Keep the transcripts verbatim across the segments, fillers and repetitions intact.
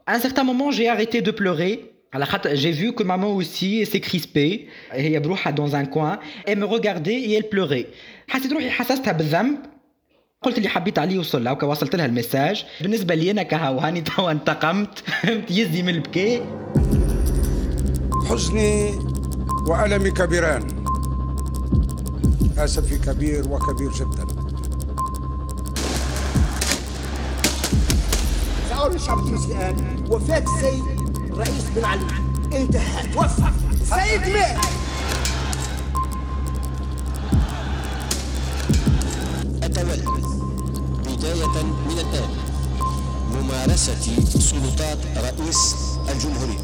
À un certain moment, j'ai arrêté de pleurer. J'ai vu que maman aussi s'est crispée. هي بروحها dans un coin. Elle me regardait et elle pleurait. حسيت روحي حسستها بالذنب. قلت اللي حبيت عليه وصل لها وكوصلت لها المساج. بالنسبة لي أنا كهو هاني توا انتقمت. يزي من البكاء. حزني وألمي كبيران. أسفي كبير وكبير جدا. سأقول الشعب التونسي الآن وفاة السيد الرئيس بن علي انتهى توفى سيد مات. أتولى بداية من الآن ممارسة سلطات رئيس الجمهورية.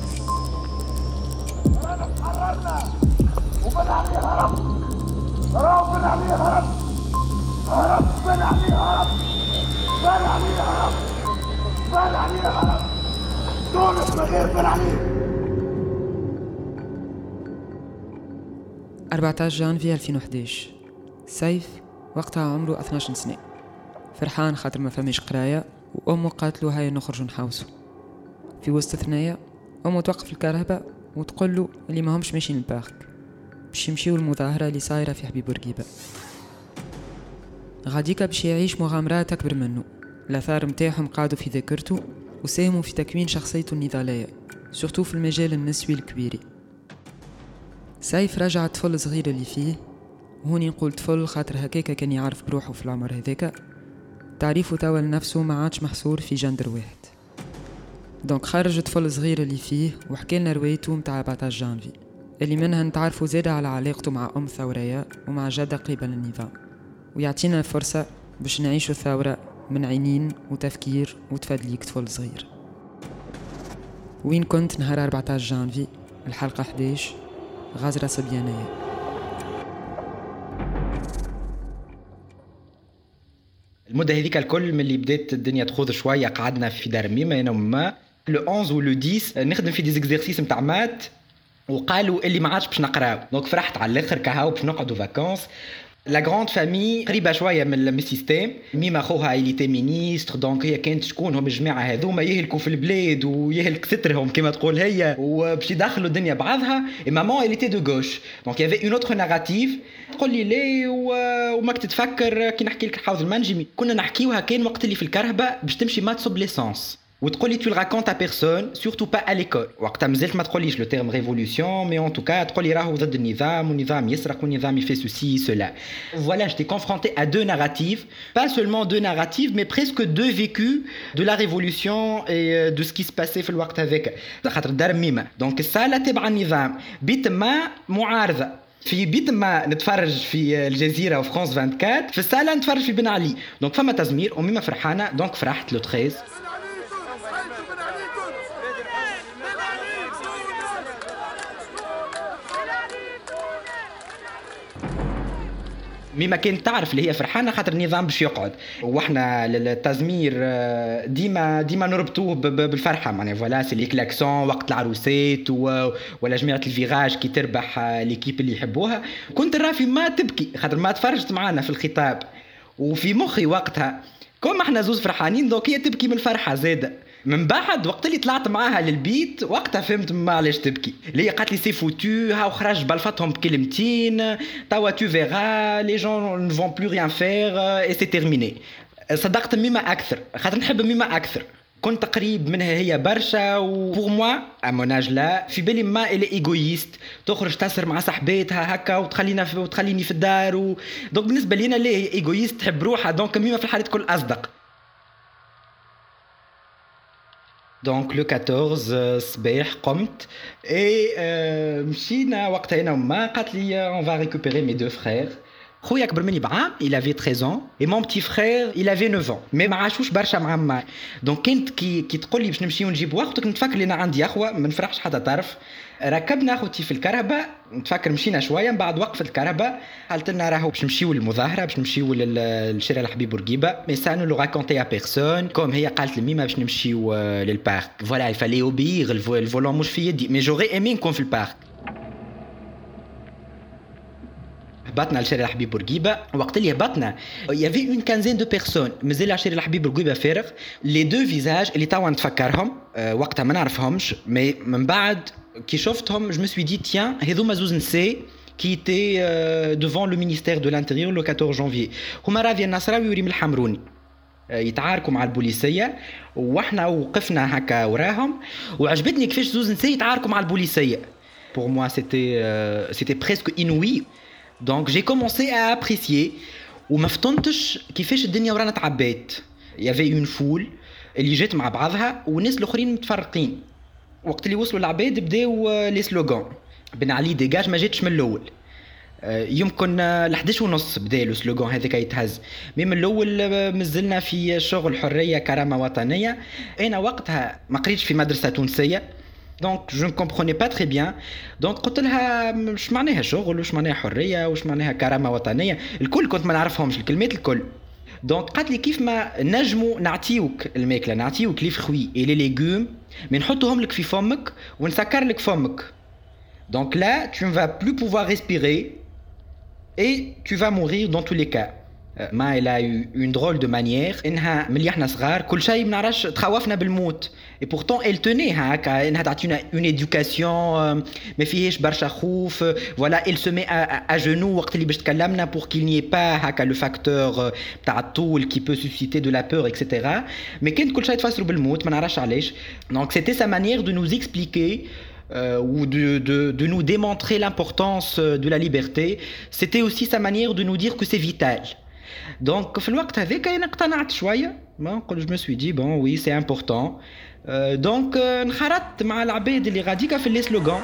تحررنا وبن علي هرب هرب بن علي هرب هرب بن علي هرب بن علي هرب بن علي هرب تونس من غير بن علي. أربعة عشر جانفي ألفين وإحدى عشر. سيف وقتها عمره اثني عشر سنة، فرحان خاطر ما فماش قراية، وأمه قالت له هيا نخرج نحوسوا. في وسط ثنايا أمه توقف الكهرباء وتقول له اللي ما همش ماشيين البارك باش يمشيو المظاهرة اللي صايرة في حبيب بورقيبة. غاديكا باش يعيش مغامرات أكبر منه. الآثار متاعهم قعدوا في ذاكرته وساهموا في تكوين شخصيته النضالية، سورتو في المجال النسوي الكبيري. سيف رجع طفل صغير اللي فيه، وهوني نقول طفل خاطر هكاكا كان يعرف بروحه في العمر هذاك. تعريفه توا لنفسه ما عادش محصور في جندر واحد. دونك خرج طفل صغير اللي فيه وحكي لنا روايته متاع أربعة عشر جانفي اللي منها نتعرفوا زيادة على علاقته مع أم ثورية ومع جدة قبل النظام، ويعطينا فرصة باش نعيشوا الثورة من عينين وتفكير وتفادليك طفل صغير. وين كنت نهار أربعة عشر جانفي الحلقة إحدى عشر، غازرة صبيانية. المدة هذيك الكل من اللي بدات الدنيا تخوض شوية قعدنا في دار ميمة أنا وما لو أحد ولو عشرة نخدم في دي زيكزيرسيس متاع مات، وقالوا اللي ما عادش باش نقراو. دونك فرحت على الاخر كهاو باش نقعدوا فاكونس. لا غراند فامي قريبه شويه من السيستيم. ميما خوها ايليتي مينيستر، دونك هي كانت شكون هم الجماعه هذوما يهلكوا في البلاد ويهلك سترهم كما تقول هي، وباش يدخلوا الدنيا بعضها. اي مامون ايليتي دو غوش، دونك يافي اون اوتر ناراتيف. تقول لي ليه وماك تتفكر كي نحكي لك حوض المنجمي كنا نحكيوها كان وقت اللي في الكرهبه باش تمشي ما تصب ليسانس، وتقولي tu le racontes à personne surtout pas à l'école. وقتها مازلت ما تقوليش لو تيرم ريفولوشن مي ان توكا تقولي راهو ضد النظام والنظام يسرق والنظام يفي سوسي سولا. Voilà, j'étais confronté à deux narratifs, pas seulement deux narratifs mais presque deux vécus de la révolution et de ce qui se passait في الوقت هذاك. خاطر دار ميمة دونك الصاله تبع النظام، بيت ما معارضه في بيت ما نتفرج في الجزيره وفرانس أربعة وعشرين، في الصاله نتفرج في بن علي. دونك فما تزمير وميمة فرحانه، دونك فرحت لو ثلاثة عشر. ميما كانت تعرف اللي هي فرحانه خاطر النظام باش يقعد، واحنا التزمير ديما ديما نربطوه بالفرحه معناها. فوالا سي لي كلاكسون وقت العروسات ولا جماعه الفيراج كي تربح ليكيب اللي يحبوها. كنت الرافي ما تبكي خاطر ما تفرجت معانا في الخطاب، وفي مخي وقتها كون احنا زوز فرحانين دوك هي تبكي من الفرحه زاده. من بعد وقت اللي طلعت معاها للبيت وقتها فهمت ما علاش تبكي. اللي قالت لي سي فوتو ها وخرج بلفتهم بكلمتين توا تو فيغا لي جون ne vont plus rien faire et c'est terminé. صدقت ميمة اكثر خاطر نحب ميمة اكثر، كنت قريب منها هي برشا. وبور موا اموناج لا في بالي ما الي ايغويست تخرج تسر مع صاحباتها هكا وتخلينا في وتخليني في الدار و... دونك بالنسبه لينا ليه هي ايغويست تحب روحها. دونك ميمة في الحالة كل اصدق. دونك لو أربعطاش صباح قمت اي مشينا وقتها انا وما قالت لي اون فا ريكوبيري مي دو فرير. خويا اكبر مني بعام il avait treize ans et mon petit frère il avait neuf ans mais ما عاشوش برشا مع ما. دونك كنت كي كي تقول لي باش نمشيو نجيبوا اختك نتفكر لي انا عندي اخوه ما نفرحش حتى طرف. ركبنا اخوتي في الكرهبه نتفكر مشينا شويه من بعد وقفت الكرهبه قالت لنا راهو باش نمشيو للمظاهره باش نمشيو للشارع الحبيب بورقيبه مي سا نو لو راكونتي ا بيرسون كوم هي قالت لميمه باش نمشيو للبارك. فوالا يفالي اوبير الفولون مش في يدي مي جوري ايمي نكون في البارك. هبطنا لشارع الحبيب بورقيبه. وقت اللي هبطنا يافي اون كانزين دو بيرسون مازال شارع الحبيب بورقيبه فارغ. لي دو فيزاج اللي توا نتفكرهم أه وقتها ما نعرفهمش، مي من بعد كي شفتهم جو مي سوي دي تيان هذوما زوز نساء qui était euh, devant le ministère de l'Intérieur le quatorze janvier. هما راضي النصراوي وريم الحمروني يتعاركوا مع البوليسيه، واحنا وقفنا هكا وراهم، وعجبتني كيفاش زوز نساء يتعاركوا مع البوليسيه. Pour moi c'était euh, c'était presque inouï. Donc j'ai commencé à apprécier وما فطنتش كيفاش الدنيا ورانا تعبات. Il y avait une foule اللي جات مع بعضها والناس الاخرين متفرقين. وقت اللي وصلوا العباد بداو لي سلوغان بن علي ديجاج ما جاتش من الاول. يمكن لحداش ونص بدا لو سلوغان هذاك يتهز، مي من الاول مازلنا في شغل حريه كرامه وطنيه. انا وقتها ما قريتش في مدرسه تونسيه، دونك جو ne comprenais pas très bien. دونك قلت لها واش معناها شغل، واش معناها حريه، واش معناها كرامه وطنيه، الكل كنت ما نعرفهمش الكلمات الكل. دونك قالت لي كيف ما نجموا نعطيوك الماكله، نعطيوك لي فروي اي لي ليغوم، مي نحطوهم لك في فمك ونسكر لك فمك. Donc là, tu ne vas plus pouvoir respirer et tu vas mourir dans tous les cas. ما elle a eu une drôle de manière إنها ملي إحنا صغار كل شيء ما نعرفش تخوفنا بالموت. Et pourtant elle tenait هكا إنها تعطينا une éducation ما فيهاش برشا خوف. Voilà, elle se met à, à genoux وقت اللي باش تكلمنا pour qu'il n'y ait pas هكا le facteur تاع الطول qui peut susciter de la peur et cetera. Mais كانت كل شيء تفسروا بالموت ما نعرفش علاش. Donc c'était sa manière de nous expliquer Euh, ou de, de, de nous démontrer l'importance de la liberté. C'était aussi sa manière de nous dire que c'est vital. Donc في الوقت هذاك أنا اقتنعت شوية. Je me suis dit bon oui c'est important. Euh, donc انخرطت مع العباد اللي غاديكا في لي سلوغان.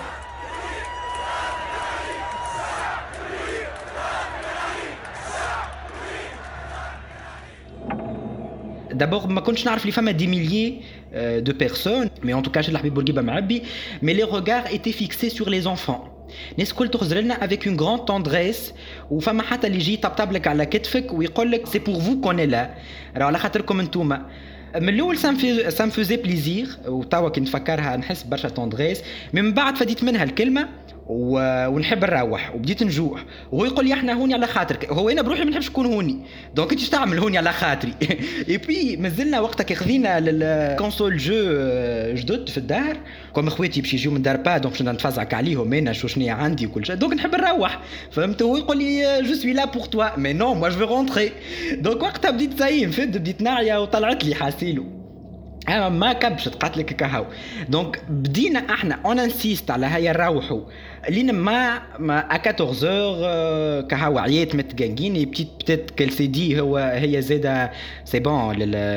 D'abord, ما كنتش نعرف لي فما دي ميليي de personnes, mais en tout cas chez الحبيب بورقيبه معبي. Mais les regards étaient fixés sur les enfants. الناس الكل تخزر لنا avec une grande tendresse، وفما حتى اللي يجي يطبطب لك على كتفك ويقول لك c'est pour vous qu'on est là. راه على خاطركم انتوما. من الاول ça me faisait plaisir، وتوا كي نفكرها نحس برشا تندريس. من بعد فديت منها الكلمه و... ونحب نروح وبديت نجوع، وهو يقول لي احنا هوني على خاطرك. هو انا بروحي ما نحبش نكون هوني، دونك انت تعمل هوني على خاطري. اي بي مازلنا وقتها كي خذينا للكونسول جو جدد في الدار، كوم اخواتي باش يجيو من دار با، دونك باش نتفزعك عليهم انا شو شنيا عندي وكل شيء، دونك نحب نروح. فهمت؟ هو يقول لي جو سوي لا بور توا، مي نو موا جو في رونتري. دونك وقتها بديت زي نفد، بديت نعيا وطلعت لي حاسيلو انا ما كبشت قالت لك كهو. دونك بدينا احنا اون انسيست على هيا نروحوا لين ما ما أربعطاش اور كهو عيات متقنقين. بتيت بتيت كل سي دي هو هي زاده سي بون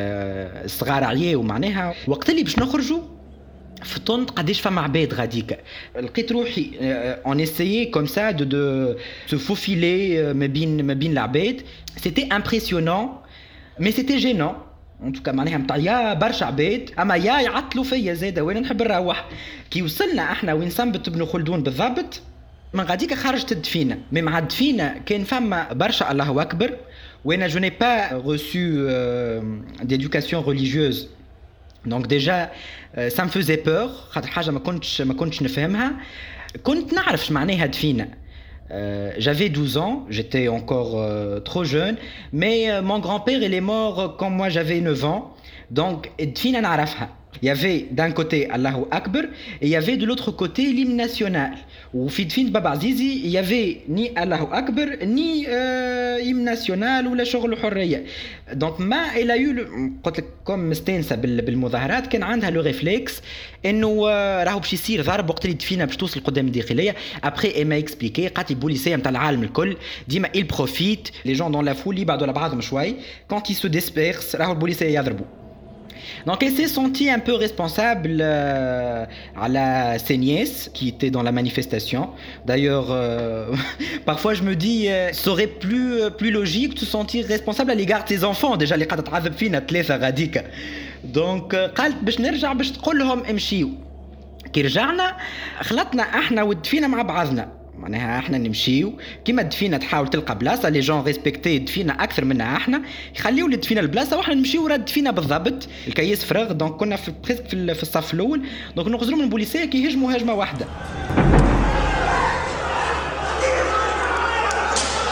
للصغار عياو معناها. وقت اللي باش نخرجوا فطنت قداش فما عباد غاديكا، لقيت روحي اون اسيي كوم سا دو دو سو فوفيلي ما بين ما بين العباد. سيتي امبرسيونون مي سيتي جينون ان توكا معناها متاع برشا عباد، اما يا يعطلوا فيا زاده وانا نحب نروح. كي وصلنا احنا وين سنبت ابن خلدون بالضبط، من غاديك خرجت الدفينه. مي مع الدفينه كان فما برشا الله اكبر، وانا جو ني با ريسو ديدوكاسيون ريليجيوز. دونك ديجا سا me faisait peur، خاطر حاجه ما كنتش ما كنتش نفهمها. كنت نعرف اش معناها دفينه. Euh, j'avais douze ans, j'étais encore euh, trop jeune, mais euh, mon grand-père il est mort quand moi j'avais neuf ans, donc Dfina نعرفها. Il y avait d'un côté Allahu Akbar et il y avait de l'autre côté l'hymne national. Ou في دفين بابا عزيزي il y avait ni Allahu Akbar ni euh, hymne national ولا شغل حرية. Donc ما il a eu قلت لك كم مستانسة بالمظاهرات كان عندها لو ريفلكس إنه راهو باش يصير ضرب وقت اللي دفينا باش توصل قدام الداخلية. Après elle m'a expliqué قالت لي البوليسية نتاع العالم الكل ديما il profite les gens dans la foule يبعدوا على بعضهم شوي، quand ils se dispersent راهو البوليسية يضربوا. Donc elle s'est sentie un peu responsable euh, à la ses nièces qui étaient dans la manifestation. D'ailleurs, euh, parfois je me dis, euh, ça aurait plus plus logique de se sentir responsable à l'égard de tes enfants. Déjà les قاعدة تعذب فينا ثلاثة غاديكا. Donc قالت باش نرجع باش تقول لهم امشيوا. كي رجعنا خلطنا احنا ودفينا مع بعضنا. معناها احنا نمشيو كيما الدفينه تحاول تلقى بلاصه لي جون ريسبكتي الدفينه اكثر منا احنا يخليو للدفينه البلاصه واحنا نمشيو ورا الدفينه بالضبط. الكياس فراغ، دونك كنا في بريسك في, في الصف الاول. دونك نغزروا من البوليسيه كي يهجموا هجمه واحده.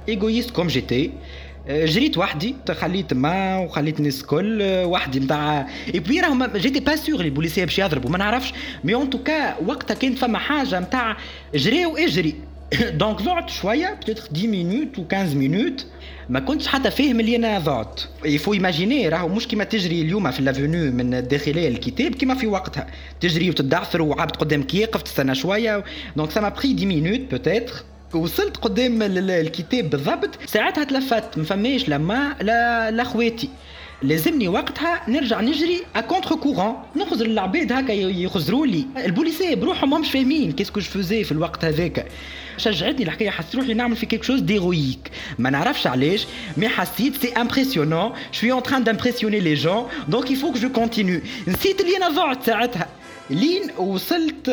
ايغويست كوم جيتي. جريت وحدي، خليت ما وخليت الناس الكل وحدي نتاع اي بوي راهم جيتي با سور لي بوليسيه باش يضربوا ما نعرفش، مي اون توكا وقتها كانت فما حاجه نتاع جري واجري. دونك ضعت شويه بتاتر عشر مينوت و خمسطاش مينوت، ما كنتش حتى فاهم اللي انا ضعت. يفو ايماجيني راهو مش كيما تجري اليوم في لافونيو من الداخليه للكتاب كيما في وقتها تجري وتدعثر وعبد قدامك يقف تستنى شويه. دونك سا ما بري عشر مينوت بوتيتر، وصلت قدام الكتاب بالضبط. ساعتها تلفت ما فماش لما لا لا خواتي، لازمني وقتها نرجع نجري ا كونتر كورون، نخزر العباد هكا يخزروا لي. البوليسيه بروحهم ماهمش فاهمين كيسكو جو فوزي في الوقت هذاك. شجعتني الحكايه، حسيت روحي نعمل في كيك شوز ديرويك، ما نعرفش علاش مي حسيت سي امبرسيونون، شوي اون تران دامبرسيوني لي جون، دونك يفو كو جو كونتينيو. نسيت اللي انا ضعت ساعتها لين وصلت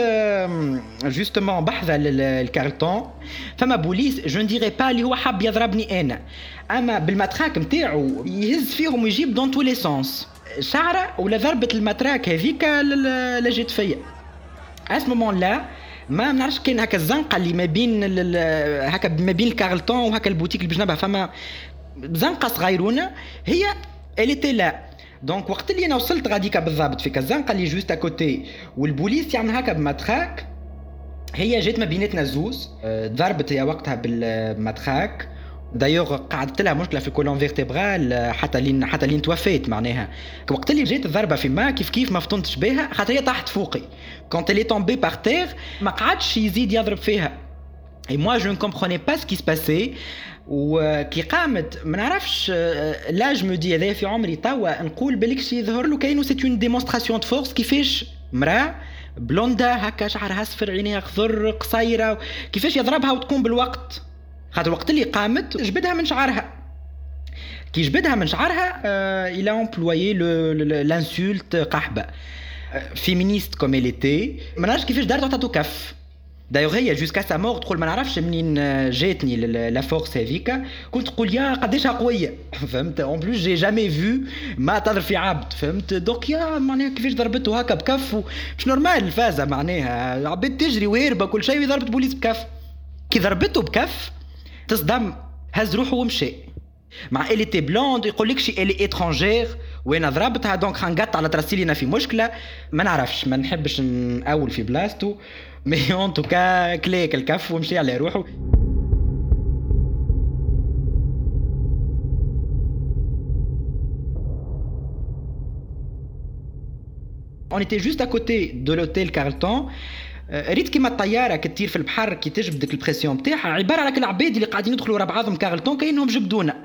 جوستومون بحذا الكارتون. فما بوليس جو نديري با اللي هو حاب يضربني انا، اما بالمتراك نتاعو يهز فيهم ويجيب دون تو لي سونس شعره ولا ضربه المتراك هذيك اللي جات فيا. اس مومون لا ما نعرفش كاين هكا الزنقه اللي ما بين هكا ما بين الكارلتون وهكا البوتيك اللي بجنبها، فما زنقه صغيرونه هي اليتي لا. دونك وقت اللي انا وصلت غاديكا بالضبط في كازنقه اللي جوست اكوتي والبوليس يعمل هكا بمتراك، هي جات ما بيناتنا الزوز، ضربت هي وقتها بالمتراك. دايوغ قعدت لها مشكله في الكولون فيرتيبرال حتى لين حتى لين توفيت معناها. وقت اللي جات الضربه في ما كيف كيف ما فطنتش بها خاطر هي طاحت فوقي. كونت لي تومبي بار تير ما قعدش يزيد يضرب فيها. اي موا جو ne comprenais pas ce qui se passait. وكي قامت ما نعرفش لاج مو دي هذا في عمري توا نقول بالكش يظهر له كاينو سيت اون ديمونستراسيون دو فورس كيفاش مراه بلوندا هكا شعرها اصفر عينيها خضر قصيره كيفاش يضربها وتكون بالوقت. خاطر الوقت اللي قامت جبدها من شعرها، كي جبدها من شعرها الى امبلويي لانسولت قحبه فيمينيست كوم اليتي. ما نعرفش كيفاش دارت عطاتو كف. دايوغ هي جوسكا سا مور تقول ما نعرفش منين جاتني لا فورس هذيك، كنت تقول يا قداش قويه فهمت. اون بلوس جي جامي فيو ما تضرب في عبد فهمت. دونك يا معناها كيفاش ضربته هكا بكف مش نورمال الفازه معناها عباد تجري وهربه كل شيء وضربت بوليس بكف. كي ضربته بكف تصدم هز روحه ومشي. مع اللي تي بلوند يقول لك شي اللي اترانجير وين ضربتها دونك خنقط على ترسيلينا في مشكله. ما نعرفش ما نحبش نقول في بلاصتو مي اون توكا كليك الكف ومشي على روحه. On était juste à côté de l'hôtel Carlton. ريت كيما الطياره كتطير في البحر كي تجبد ديك البريسيون نتاعها عباره على العباد اللي قاعدين يدخلوا ورا بعضهم كارلتون كاينهم جبدونا.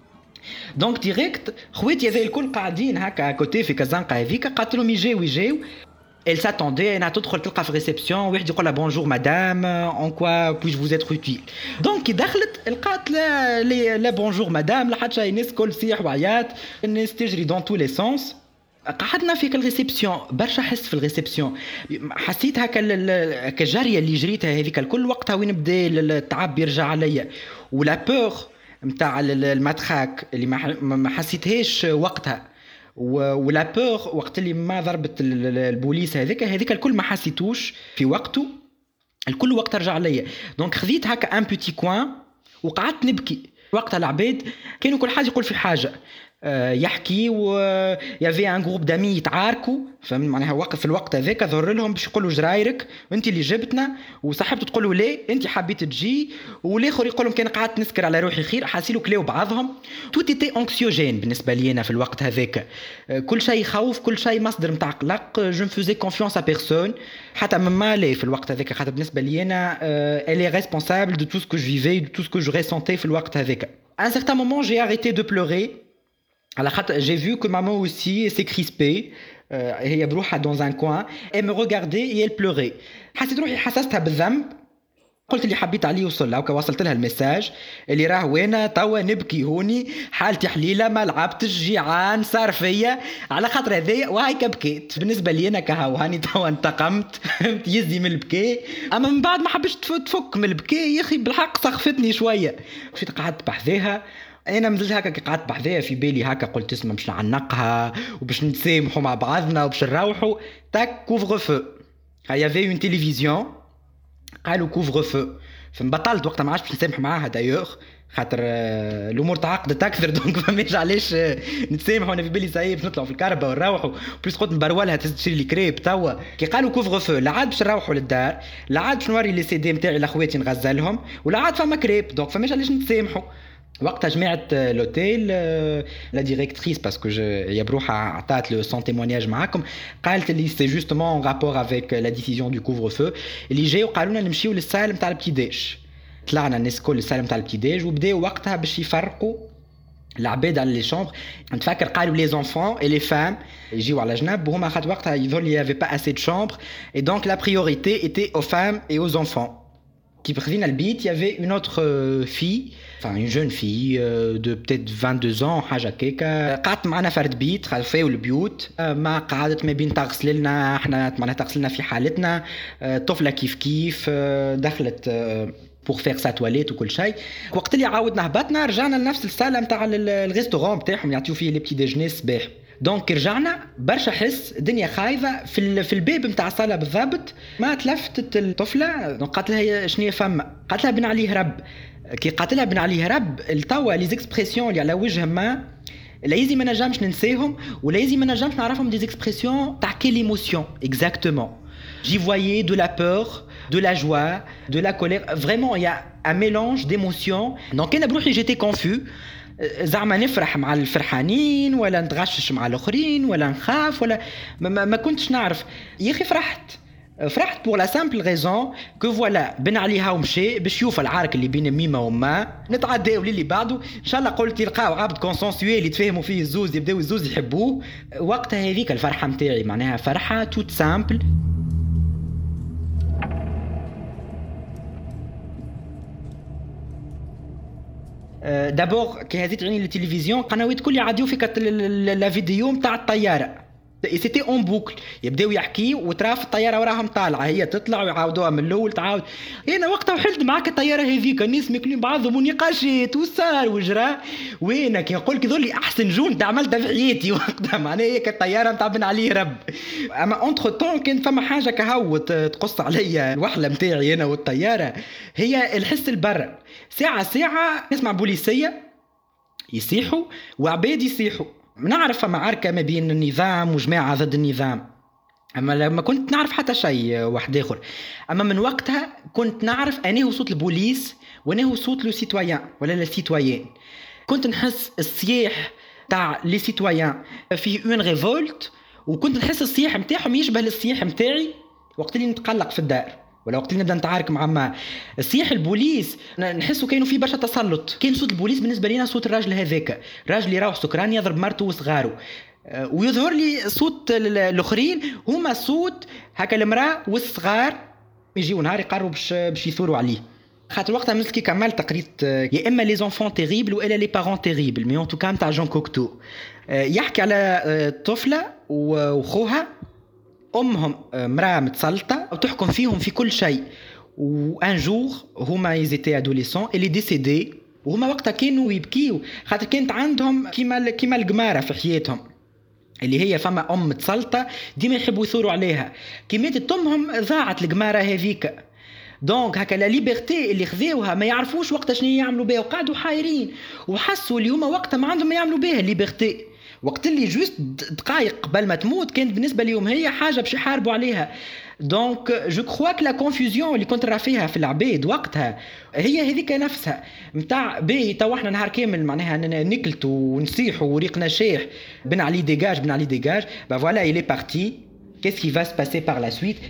دونك ديريكت خواتي هذا الكل قاعدين هكا كوتي في كازانقه هذيك قالت لهم يجيو يجيو. Elle s'attendait انها تدخل تلقى في ريسبسيون واحد يقول لها بونجور مدام اون كوا بويش فوز اتر اوتيل. دونك كي دخلت لقات لا لا بونجور مدام لا حتى شي، الناس كل صيح وعيات، الناس تجري دون تو لي سونس. قعدنا في الريسبسيون برشا حس في الريسبسيون، حسيت هكا الجاريه اللي جريتها هذيك الكل وقتها وين بدا التعب يرجع عليا، ولا بور نتاع الماتراك اللي ما حسيتهاش وقتها، ولا بور وقت اللي ما ضربت البوليس هذيك هذيك الكل ما حسيتوش في وقته، الكل وقت رجع عليا. دونك خذيت هكا ان بوتي كوان وقعدت نبكي. وقتها العباد كانوا كل حاجه يقول في حاجه يحكي، ويافي ان جروب دامي يتعاركوا فهمت معناها. وقف في الوقت هذاك ظهر لهم باش يقولوا جرايرك انت اللي جبتنا، وصاحبته تقول له لا انت حبيت تجي، والاخر يقول لهم كان قعدت نسكر على روحي خير. حاسيلو كلاو بعضهم. توت ايتي انكسيوجين بالنسبه لي انا في الوقت هذاك، كل شيء خوف، كل شيء مصدر نتاع قلق. جو نفوزي كونفيونس ا بيرسون حتى مما لي في الوقت هذاك، خاطر بالنسبه لي انا الي ريسبونسابل دو تو سكو جو فيفي دو تو سكو جو ريسونتي في الوقت هذاك. ان سيغتان مومون جي اريتي دو بلوري على خاطر j'ai vu que maman aussi s'est crispée. هي بروحها dans un coin et me regardait et elle pleurait. حسيت روحي حسستها بالذنب. قلت اللي حبيت عليه وصل لها ووصلت لها المساج اللي راه وانا توا نبكي هوني حالتي حليله ما لعبتش جيعان صار فيا على خاطر هذايا وهيك بكيت. بالنسبه لي انا كهو هاني توا انتقمت يزي من البكاء، اما من بعد ما حبش تفك من البكاء يا اخي بالحق سخفتني شويه. مشيت قعدت بحذاها. انا مازلت هكا كي قعدت بحذاها في بالي هكا قلت اسمع باش نعنقها وباش نتسامحوا مع بعضنا وباش نروحوا تاك كوفر فو. هيا في اون تيليفزيون قالوا كوفر فو، فنبطلت وقتها ما عادش باش نسامح معاها. دايوغ خاطر الامور تعقدت اكثر دونك فماش علاش نتسامحوا. انا في بالي صايب باش نطلعوا في الكهرباء ونروحوا بليس قلت نبرولها تشري لي كريب توا كي قالوا كوفغ فو لا عاد باش نروحوا للدار لا عاد باش نوري لي سي دي نتاعي لاخواتي نغزلهم ولا عاد فما كريب دونك فماش علاش نتسامحوا. وقتها جماعه لوتيل لا ديريكتريس باسكو هي بروحها عطات لو سون تيمونياج معاكم قالت لي سي جوستومون اون رابور افيك لا ديسيزيون دو كوفغ فو اللي جاوا قالوا لنا نمشيو للسالم تاع البتيداج. طلعنا الناس كل السالم تاع البتيداج وبداو وقتها باش يفرقوا العباد على لي شامبر. نتفكر قالوا لي زونفون اي لي فام يجيو على جنب وهما خاطر وقتها يظهر لي يافي با اسي دو شامبر اي دونك لا بريوريتي ايتي او فام اي او زونفون. كي خذينا البيت يافي اون اوتر في enfin une jeune fille euh, de peut-être vingt-deux ans حاجه كيكا قعدت معنا فرد بيت خلفاو البيوت ما قعدت ما بين تغسل لنا احنا معناها تغسلنا في حالتنا طفله كيف كيف دخلت pour faire sa toilette وكل شيء. وقت اللي عاودنا هبطنا رجعنا لنفس الصاله نتاع الريستورون بتاعهم يعطيو فيه لي بتي ديجني الصباح. دونك رجعنا برشا حس الدنيا خايفه في في الباب نتاع الصاله بالضبط. ما تلفتت الطفله دونك قالت لها شنو فما قالت لها بن عليه رب. كي قاتلها بن عليه رب التوا لي زيكسبرسيون اللي على وجه ما لازم ما نجمش ننساهم ولازم ما نجمش نعرفهم دي زيكسبرسيون تاع كيل ايموسيون اكزاكتومون. جي فوايي دو لا بور de la joie, de la colère. Vraiment, il y a un mélange d'émotions. Donc, أنا بروحي j'étais confus. زعما نفرح مع الفرحانين ولا نتغشش مع الآخرين ولا نخاف ولا ما, ما, ما كنتش نعرف. يا أخي فرحت. فرحت pour la simple raison que voilà بن عليها ومشي باش يشوف العارك اللي بين ميمة وما نتعداو للي بعده ان شاء الله. قلت يلقاو عبد كونسنسويل يتفاهموا فيه الزوز يبداو الزوز يحبوه. وقتها هذيك الفرحة متاعي معناها فرحة توت سامبل. دابور كي هذه تعيني التلفزيون قنوات كل يعديو في لا فيديو نتاع الطياره سيتي اون بوكل يبداو يحكيو وتراف الطياره وراهم طالعه هي تطلع ويعاودوها من الاول تعاود. انا وقتها وحلت معاك الطياره هذيك الناس ماكلين بعضهم ونقاشات وصار وجرى وينك كي نقول كي ذولي احسن جون عملتها في حياتي وقتها معناها هيك الطياره نتاع بن عليه رب. اما اونتر طون كان فما حاجه كهو تقص عليا الوحله نتاعي انا والطياره هي الحس البر. ساعه ساعه نسمع بوليسيه يصيحوا وعباد يصيحوا. نعرف معركة ما بين النظام وجماعة ضد النظام أما لما كنت نعرف حتى شيء واحد آخر. أما من وقتها كنت نعرف أنه هو صوت البوليس وأنه هو صوت لو سيتويان ولا لا سيتويان. كنت نحس الصياح تاع لي سيتويان فيه اون ريفولت وكنت نحس الصياح متاعهم يشبه الصياح متاعي وقت اللي نتقلق في الدار ولا وقت اللي نبدا نتعارك مع ما الصياح البوليس نحسه كانوا فيه برشا تسلط. كان صوت البوليس بالنسبه لينا صوت الراجل هذاك راجل يروح سكران يضرب مرته وصغاره ويظهر لي صوت الاخرين هما صوت هكا المراه والصغار يجيو نهار يقربوا باش باش يثوروا عليه. خاطر وقتها مسكي كملت قريت يا اما لي زونفون تيريبل والا لي بارون تيريبل مي اون تو كام تاع جون كوكتو يحكي على طفله وخوها امهم مراه متسلطه وتحكم فيهم في كل شيء. وان جور هما يزيتي ادوليسون اللي ديسيدي وهما وقتها كانوا يبكيو خاطر كانت عندهم كيما كيما القماره في حياتهم اللي هي فما ام متسلطه ديما يحبوا يثوروا عليها. كي ماتت امهم ضاعت القماره هذيك. دونك هكا لا ليبرتي اللي خذوها ما يعرفوش وقتها شنو يعملوا بها وقعدوا حايرين وحسوا اللي هما وقتها ما عندهم ما يعملوا بها الليبرتي. وقت اللي جوست دقائق قبل ما تموت كانت بالنسبه لهم هي حاجه باش يحاربوا عليها. دونك جو كخوا ك لا كونفوزيون اللي كنت راه فيها في العباد وقتها هي هذيك نفسها نتاع باهي تو احنا نهار كامل معناها نكلتوا ونصيحوا وريقنا شاح بن علي ديجاج بن علي ديجاج با فوالا il est parti qu'est-ce qui va se passer par la suite.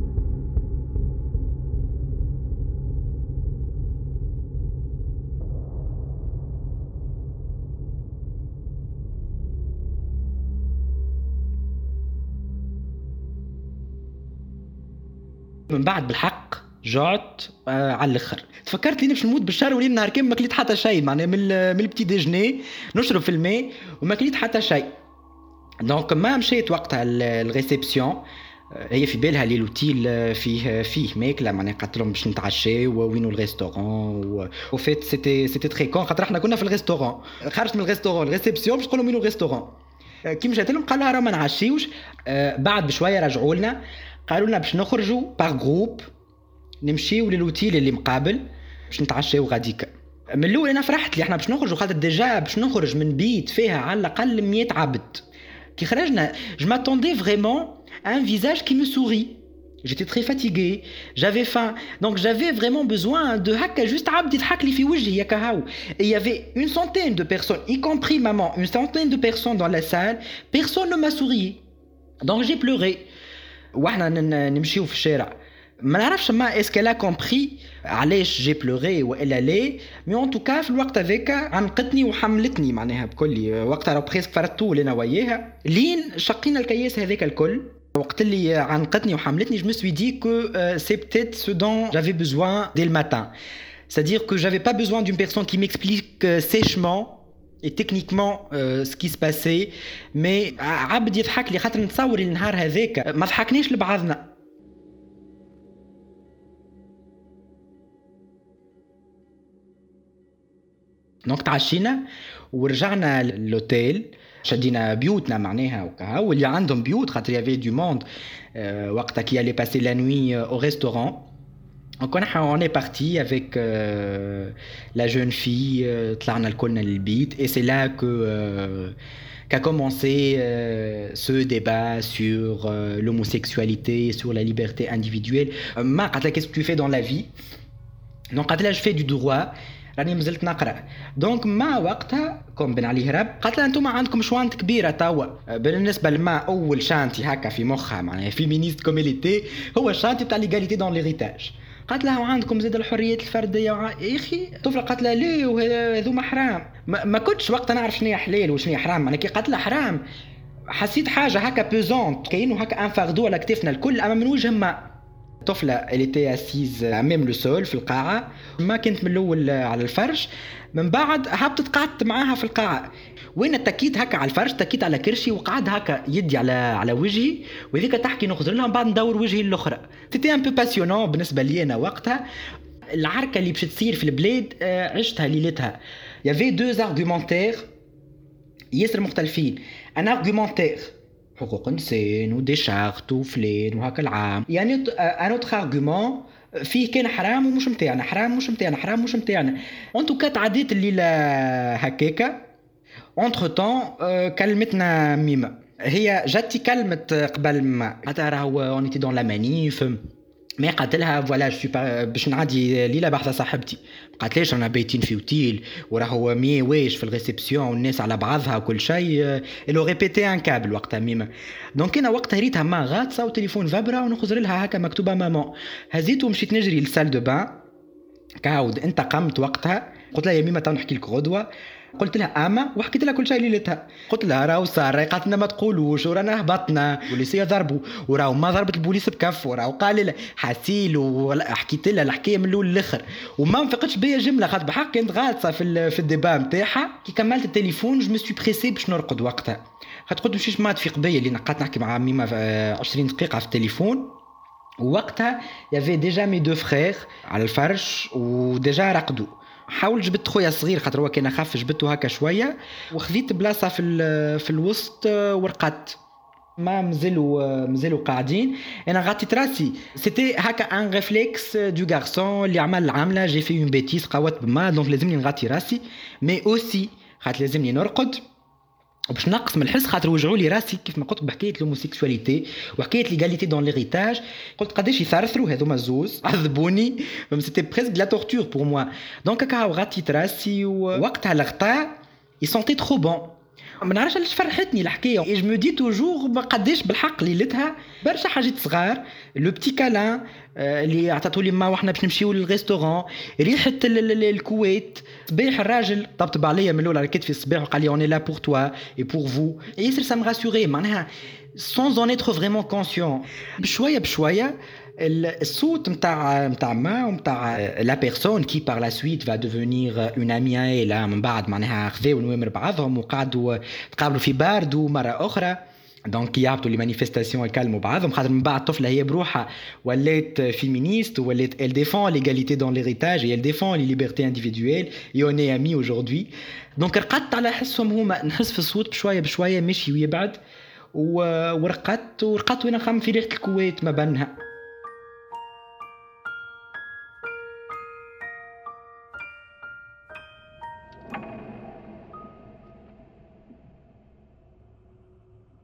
من بعد بالحق جعت آه على الاخر. تفكرت لي باش نموت بالشهر ولي نهار كامل ما كليت حتى شيء معناها من من البتي ديجني نشرب في الماء وما كليت حتى شيء. دونك ما مشيت وقتها الريسبسيون هي في بالها لي لوتيل فيه فيه ماكله معناها قالت لهم باش نتعشى ووينو الريستورون وفيت سيتي سيتي تري كون خاطر احنا كنا في الريستورون. خرجت من الريستورون الريسبسيون باش نقول لهم وينو الريستورون. كي مشيت لهم قال لها راه ما نعشيوش. آه بعد بشويه رجعوا لنا قالوا لنا باش نخرجوا باغ جروب نمشيو للوتيل اللي مقابل باش نتعشاو غاديك. من الاول انا فرحت لي احنا باش نخرجوا خاطر ديجا باش نخرج من بيت فيها على الاقل مية عبد. كي خرجنا je m'attendais vraiment à un visage qui me sourit. J'étais très fatigué, j'avais faim, donc j'avais vraiment besoin de haka juste عبد يضحك لي في وجهي ياك هاو. Et il y avait une centaine de personnes, y compris maman, une centaine de personnes dans la salle, personne ne m'a souri. Donc j'ai pleuré. واحنا نمشيو في الشارع. ما نعرفش ما اسكو لا كومبري علاش جي بلوري والا لي، مي اون توكا في الوقت هذاك عنقتني وحملتني معناها بكل وقتها راه بريسك فرطو لنا وياها لين شقينا الكياس هذاك الكل. وقت اللي عنقتني وحملتني je me suis dit que euh, c'est peut-être ce dont j'avais besoin dès le matin. C'est-à-dire que j'avais pas besoin d'une personne qui m'explique euh, sèchement et techniquement euh, ce qui se passait, mais عبد يضحك لي خاطر نتصور النهار هذاك ما ضحكناش لبعضنا. دونك تعشينا ورجعنا للوتيل، شدينا بيوتنا معناها وكا، واللي عندهم بيوت خاطر يافي دو موند وقتها كي allait passer la nuit au restaurant. Donc on est parti avec euh, la jeune fille, طلعنا الكلنا للبيت et c'est là que euh, qu'a commencé euh, ce débat sur euh, l'homosexualité, sur la liberté individuelle. ما قالت لها qu'est-ce que tu fais dans la vie. Donc قالت لها je fais du droit. راني مازلت نقرا. دونك ما وقتها كوم بن علي هرب قالت لها انتم عندكم شوانت كبيره توا. بالنسبه لما اول شانتي هكا في مخها معناها فيمينيست كوميليتي هو الشانتي تاع ليغاليتي دون ليغيتاج. قالت لها وعندكم زاد الحريات الفرديه وع... يا اخي طفله قالت لها ليه وهذوما حرام. ما, ما كنتش وقتها نعرف شنو هي حلال وشنو هي حرام. معناها كي قالت لها حرام حسيت حاجه هكا بيزونت كاينو هكا ان فاردو على كتفنا الكل اما من وجه ما. طفلة elle était assise même le sol في القاعة، ما كنت من الأول على الفرش، من بعد هبطت قعدت معاها في القاعة وين اتكيت هكا على الفرش، تكيت على كرشي وقعد هكا يدي على على وجهي وذيك تحكي نخزر لها بعد ندور وجهي الأخرى. c'était un peu passionnant بالنسبة لي أنا وقتها. العركة اللي باش تصير في البلاد عشتها ليلتها. il y avait deux argumentaires ياسر مختلفين. un argumentaire حقوق إنسان ودي شارت وفلان وهكا العام، يعني ان اوتر ارغومون فيه كان حرام ومش متاعنا، حرام مش متاعنا، حرام مش متاعنا. ان توكا تعديت الليله هكاكا. اونتر طون كلمتنا ميمه، هي جاتي كلمه قبل ما حتى راهو اونيتي دون لا مانيف ما قالت لها فوالا جو باش نعدي ليله بحثه صاحبتي. قالت ليش انا بايتين في اوتيل وراهو مي واش في الريسبسيون والناس على بعضها وكل شيء. الو ريبيتي ان كابل وقتها ميمه. دونك انا وقتها ريتها ما غاطسه وتليفون فابرا ونخزر لها هكا مكتوبه مامان. هزيت ومشيت نجري للسال دو بان. كاود انت قمت وقتها قلت لها يا ميمه تو نحكي لك غدوه. قلت لها اما وحكيت لها كل شيء ليلتها. قلت لها راهو صار قالت لنا ما تقولوش ورانا هبطنا البوليسيه ضربوا وراهو ما ضربت البوليس بكف وراهو قال لها حسيل وحكيت لها الحكايه من الاول للاخر وما نفقتش بيا جمله خاطر بحق كانت غاطسه في في الديبا نتاعها. كي كملت التليفون جو مي سوي بريسي باش نرقد وقتها خاطر قلت مشيش ما تفيق بيا اللي نقعد نحكي مع ميمه عشرين دقيقه في التليفون. ووقتها يافي ديجا مي دو فرير على الفرش وديجا رقدوا. حاول جبت خويا صغير خاطر هو كان اخف جبته هكا شويه وخذيت بلاصه في في الوسط ورقدت. ما مازالوا مازالوا قاعدين انا غطيت راسي. سيتي هكا ان ريفلكس دو غارسون اللي عمل العمله جي في اون بيتيس قوت بما دونك لازمني نغطي راسي مي اوسي خاطر لازمني نرقد وباش نقص من الحس خاطر وجعوا لي راسي كيف ما قلت بحكايه الهوموسيكسواليتي وحكايه ليغاليتي دون ليغيتاج. قلت قداش يثرثروا هذوما الزوز عذبوني فم سيتي بريسك لا تورتور بور موا. دونك هكا غطيت راسي ووقتها الغطاء يي سونتي ترو بون. ما نعرفش علاش فرحتني الحكايه. اي جو مو دي توجور قداش بالحق ليلتها برشا حاجات صغار. لو بتي كالان اللي عطاتولي ما واحنا باش نمشيو للريستورون، ريحه الكويت. صباح الراجل طبطب عليا من الاول على كتفي الصباح وقال لي اوني لا بور توا اي بور فو. ياسر سا مي راسوري معناها sans en être vraiment conscient. بشويه بشويه الصوت نتاع نتاع ما ونتاع لا بيرسون كي بار لا سويت va devenir une amie à elle من بعد معناها خذاو نوامر بعضهم وقعدوا تقابلوا في باردو مره اخرى. دونك يهبطوا لي مانيفيستاسيون يكلموا بعضهم خاطر من بعد الطفله هي بروحها ولات فيمينيست ولات elle défend l'égalité dans l'héritage et elle défend les libertés individuelles et on est amis aujourd'hui. دونك رقدت على حسهم هما نحس في الصوت بشويه بشويه مشي ويبعد ورقدت ورقدت وانا خم في ريحه الكويت ما بينها.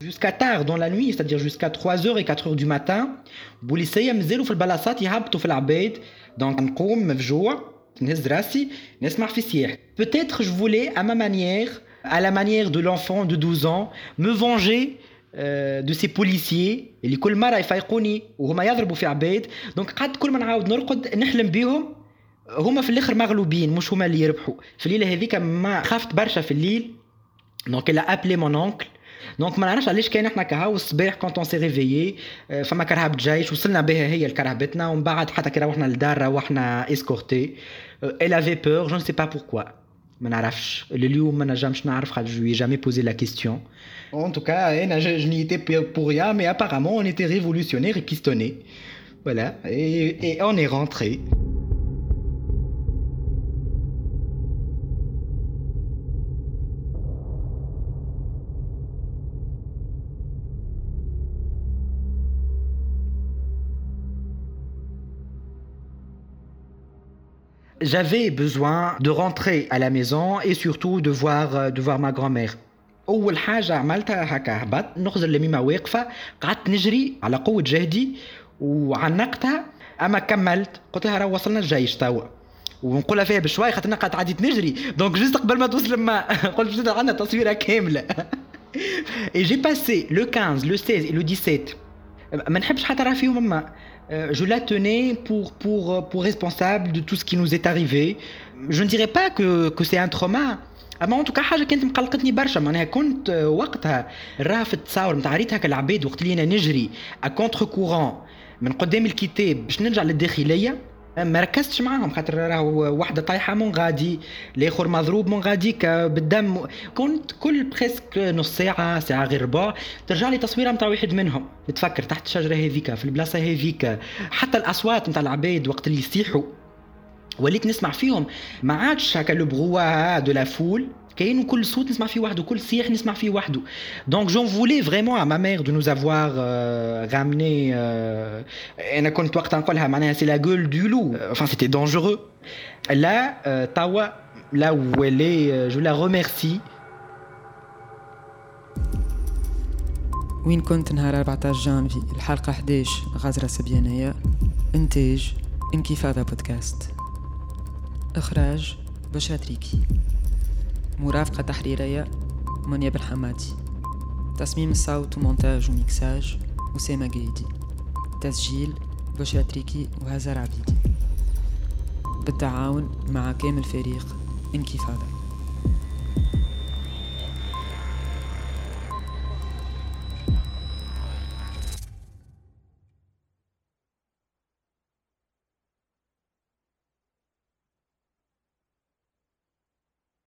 jusqu'à tard dans la nuit, c'est-à-dire jusqu'à trois heures et quatre heures du matin. بوليسية مازالوا في البلاصات يهبطوا في العباد. Donc نقوم مفجوع نهز راسي نسمع في صياح. Peut-être je voulais à ma manière, à la manière de l'enfant de douze ans, me venger euh, de ces policiers اللي كل مرة يفيقوني وهما يضربوا في عباد. Donc قعدت كل ما نعاود نرقد نحلم بيهم هما في الاخر مغلوبين مش هما اللي يربحوا. في الليلة هذيك ما خافت برشا في الليل. Donc elle a appelé mon oncle. دونك ما نعرفش علاش كان احنا كهو الصباح كونت اون سي ريفيي فما كرهبة جيش وصلنا بها هي لكرهبتنا ومن بعد حتى كي روحنا للدار روحنا اسكورتي. Elle avait peur, je ne sais pas pourquoi. ما نعرفش اليوم ما نجمش نعرف خاطر je lui ai jamais posé la question. En tout cas, انا je n'y étais pour rien mais apparemment on était révolutionnaires et pistonnés. Voilà et, et on est rentré. J'avais besoin de rentrer à la maison et surtout de voir, de voir ma grand-mère. أول حاجة عملتها هكا هبط نخزر لميمة واقفة قعدت نجري على قوة جهدي وعنقتها أما كملت قلت لها راه وصلنا الجيش توا ونقولها فيها بشوي خاطر قعدت عديت نجري دونك جست قبل ما توصل لما قلت باش عندنا تصويرة كاملة. Et j'ai passé le quinze, le seize et le dix-sept. ما نحبش حتى راه فيهم أما je la tenais pour, pour, pour responsable de tout ce qui nous est arrivé. Je ne dirais pas que, que c'est un trauma. أما en tout cas حاجة كانت مقلقتني برشا معناها كنت وقتها راه في التصاور متاع ريت هكا العباد وقت اللي أنا نجري à contre courant من قدام الكتاب باش نرجع للداخلية ما ركزتش معاهم خاطر راهو واحدة طايحة من غادي الآخر مضروب من غاديك بالدم. كنت كل بريسك نص ساعة ساعة غير ربع ترجع لي تصويرة متاع واحد منهم نتفكر تحت الشجرة هذيك في البلاصة هذيك. حتى الأصوات متاع العباد وقت اللي يصيحوا وليت نسمع فيهم ما عادش هكا لو بروا دو لا فول كاين وكل صوت نسمع فيه وحده كل صياح نسمع فيه وحده. Donc j'en voulais vraiment à ma mère de nous avoir euh, ramené euh, انا كنت وقتها نقولها معناها c'est la gueule du loup. Enfin c'était dangereux. Là euh, Tawa là où elle est euh, je la remercie. وين كنت نهار أربعطاش جانفي الحلقة إحداش غازرة سبيانية. إنتاج انكفاضة بودكاست. إخراج بشرى تريكي. مرافقة تحريرية منيا بالحمادي. تصميم الصوت ومونتاج وميكساج أسامة قايدي. تسجيل بشرى تريكي وهزار عبيدي بالتعاون مع كامل فريق انكفاضة.